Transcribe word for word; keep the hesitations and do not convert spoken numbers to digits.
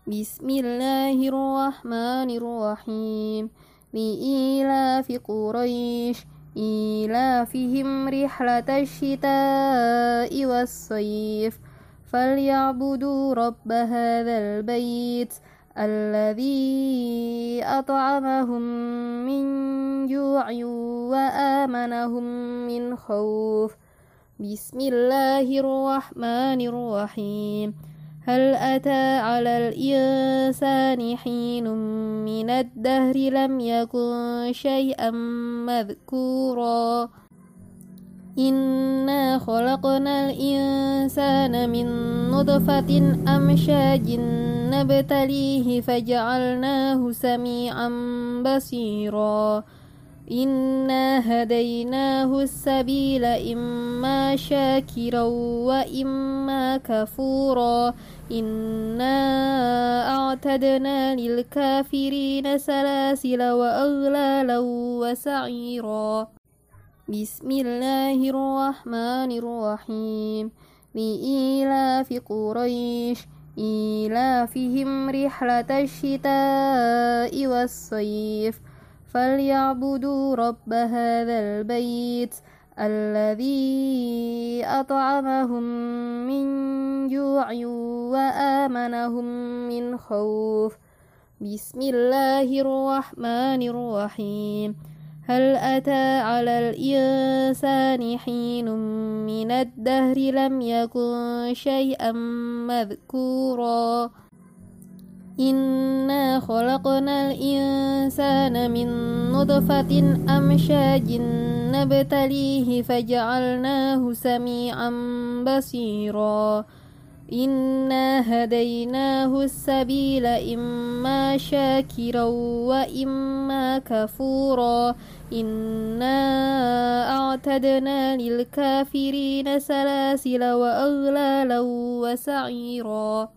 بسم الله الرحمن الرحيم لإيلاف قريش إيلافهم رحلة الشتاء والصيف فليعبدوا رب هذا البيت الذي أطعمهم من جوع وآمنهم من خوف. بسم الله الرحمن الرحيم هل أتى على الإنسان حين من الدهر لم يكن شيئا مذكورا إنا خلقنا الإنسان من نطفة أمشاج نبتليه فجعلناه سميعا بصيرا إنا هديناه السبيل إما شاكرا وإما كفورا إنا أعتدنا للكافرين سلاسل وأغلالا وسعيرا. بسم الله الرحمن الرحيم لإيلاف قريش إيلافهم رحلة الشتاء والصيف فليعبدوا رب هذا البيت الذي أطعمهم من جوع وآمنهم من خوف. بسم الله الرحمن الرحيم هل أتى على الإنسان حين من الدهر لم يكن شيئا مذكورا إنا خلقنا الإنسان من نطفة أمشاج نبتليه فجعلناه سميعا بصيرا إنا هديناه السبيل إما شاكرا وإما كفورا إنا أعتدنا للكافرين سلاسل وأغلالا وسعيرا.